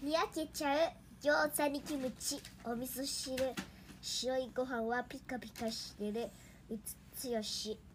にやけちゃう餃子にキムチ、お味噌汁、白いご飯はピカピカしてる。うつつよし。